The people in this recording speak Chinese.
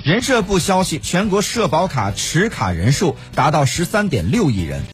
人社部消息，全国社保卡持卡人数达到13.6亿人。